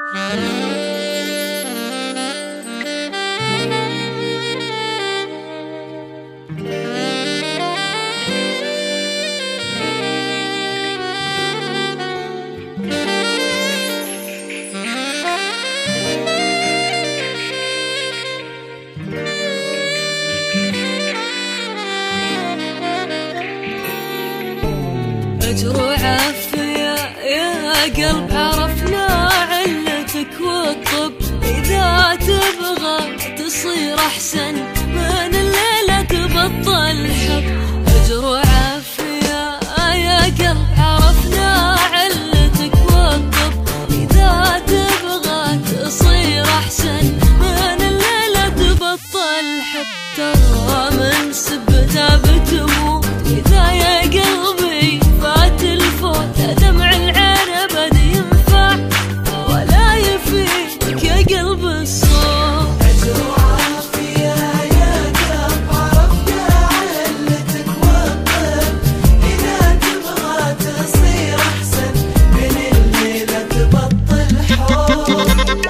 أجر وعافية يا قلب، عرفنا علتك والطب. إذا تبغى تصير أحسن من الليلة تبطل حب. أجر وعافية يا قلب، عرفنا علتك والطب. إذا تبغى تصير أحسن من الليلة تبطل حب. ترى من سبتها بتموت إذا يا قلبي فات الفوت. دمع العين أبد ينفع ولا يفيدك يا قلب الصوت. أجر وعافية يا قلب، عرفنا علتك والطب. إذا تبغى تصير أحسن من الليلة تبطل حب.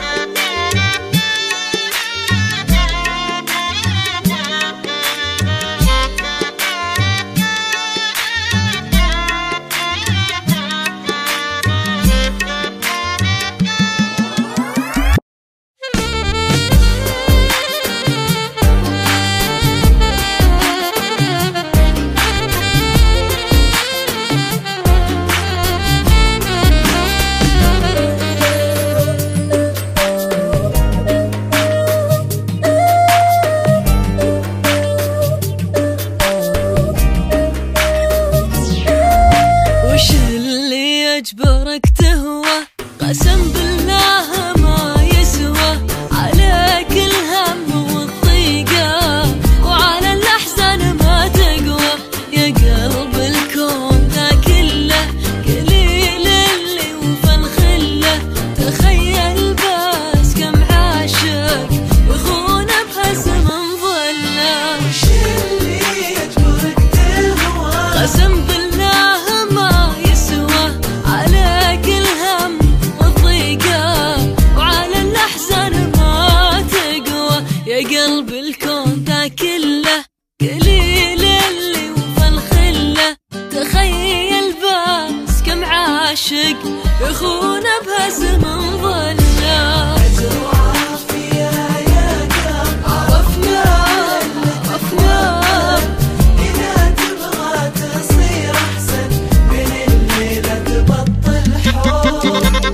وش اللي يجبرك تهوى؟ قسم بالله ما يسوى. عليك الهم والضيقة وعلى الأحزان ما تقوى. يا قلب الكون ذا كله قليل اللي وفى الخله. تخيل بس كم عاشق يخون بهزم ظله. وش اللي يجبرك تهوى؟ قسم بالله ما يسوى. عليك الهم والضيقة وعلى الأحزان ما تقوى. يا قلب الكون ذا كله قليل اللي وفى الخله. تخيل بس كم عاشق يخون بهزم ظله. أجر وعافية يا قلب، عرفنا إذا تبغى تصير أحسن من الليلة تبطل حب.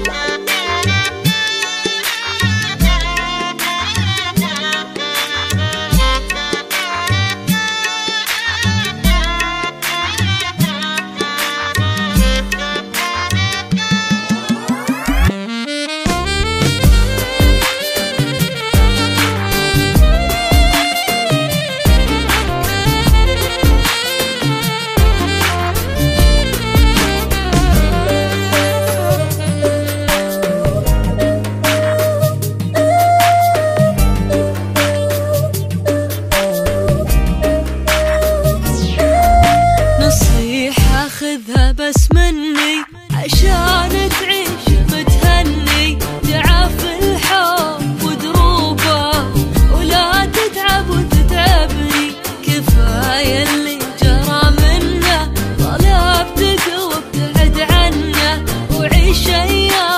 نصيحة خذها بس مني عشان تعيش متهني. تعاف الحب ودروبه ولا تتعب وتتعبني. كفاية اللي جرى منه طلبتك وابتعد عنه. وعيش أيام